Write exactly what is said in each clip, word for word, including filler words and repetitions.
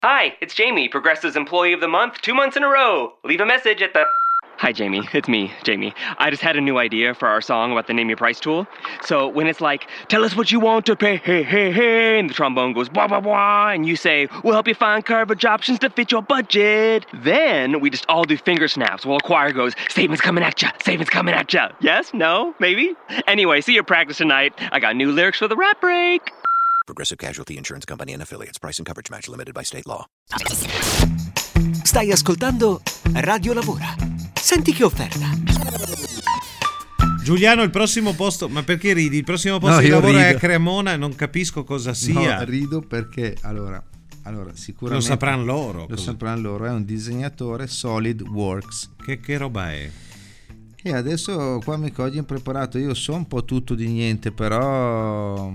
Hi, it's Jamie, Progressive's Employee of the Month, two months in a row. Leave a message at the... Hi, Jamie. It's me, Jamie. I just had a new idea for our song about the Name Your Price tool. So when it's like, tell us what you want to pay, hey, hey, hey, and the trombone goes, blah, blah, blah, and you say, we'll help you find coverage options to fit your budget. Then we just all do finger snaps while a choir goes, statements coming at ya, statements coming at ya. Yes? No? Maybe? Anyway, see your practice tonight. I got new lyrics for the rap break. Progressive Casualty Insurance Company and Affiliates. Price and coverage match limited by state law. Stai ascoltando Radio Lavora. Senti che offerta. Giuliano, il prossimo posto, ma perché ridi? Il prossimo posto No, di io lavoro rido. è a Cremona, non capisco cosa sia. No, rido perché allora, allora sicuramente Lo sapranno loro. Lo cosa- sapranno loro, è un disegnatore SolidWorks. Che, che roba è? E adesso qua mi cogli impreparato, io so un po' tutto di niente, però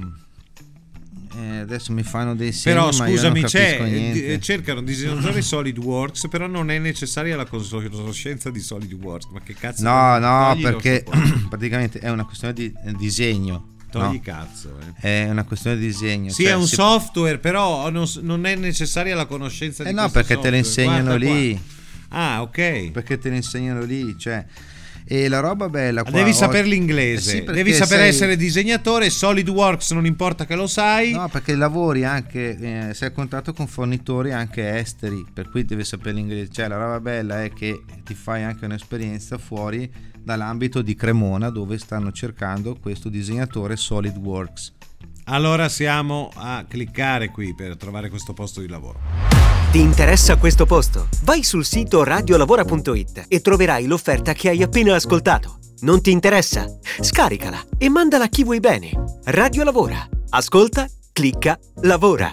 eh, adesso mi fanno dei segni, Però ma io non scusami, capisco c'è, niente. eh, cercano disegnatori SolidWorks, però non è necessaria la conoscenza di SolidWorks. Ma che cazzo? No, no, Togli lo perché supporto. praticamente è una questione di eh, disegno. Togli no? cazzo. Eh. È una questione di disegno. Sì, cioè, è un si- software, però non, non è necessaria la conoscenza Eh di no, questo perché te lo software. insegnano Guarda lì. qua. Ah, ok. Perché te lo insegnano lì, cioè. E la roba bella qua, Devi ho- sapere l'inglese, Eh sì, perché devi sapere sei- essere disegnatore. SolidWorks non importa che lo sai. No, perché lavori anche, eh, sei a contatto con fornitori anche esteri, per cui devi sapere l'inglese. Cioè la roba bella è che ti fai anche un'esperienza fuori dall'ambito di Cremona, dove stanno cercando questo disegnatore SolidWorks. Allora siamo a cliccare qui per trovare questo posto di lavoro. Ti interessa questo posto? Vai sul sito radiolavora punto it e troverai l'offerta che hai appena ascoltato. Non ti interessa? Scaricala e mandala a chi vuoi bene. Radio Lavora. Ascolta, clicca, lavora.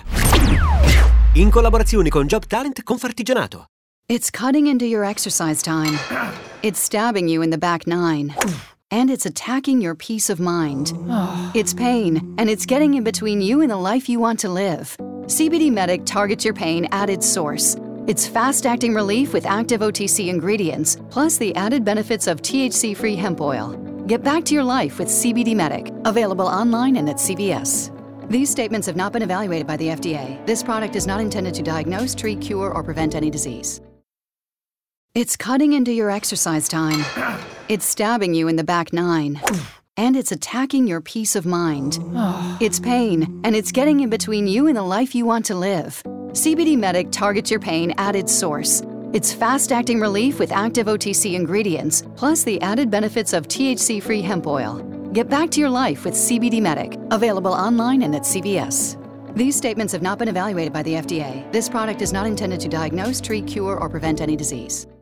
In collaborazione con Job Talent Confartigianato. It's cutting into your exercise time. It's stabbing you in the back nine. And it's attacking your peace of mind. It's pain, and it's getting in between you and the life you want to live. C B D Medic targets your pain at its source. It's fast-acting relief with active O T C ingredients, plus the added benefits of T H C-free hemp oil. Get back to your life with C B D Medic, available online and at C V S. These statements have not been evaluated by the F D A. This product is not intended to diagnose, treat, cure, or prevent any disease. It's cutting into your exercise time. It's stabbing you in the back nine. And it's attacking your peace of mind. It's pain, and it's getting in between you and the life you want to live. C B D Medic targets your pain at its source. It's fast-acting relief with active O T C ingredients, plus the added benefits of T H C-free hemp oil. Get back to your life with C B D Medic, available online and at C V S. These statements have not been evaluated by the F D A. This product is not intended to diagnose, treat, cure, or prevent any disease.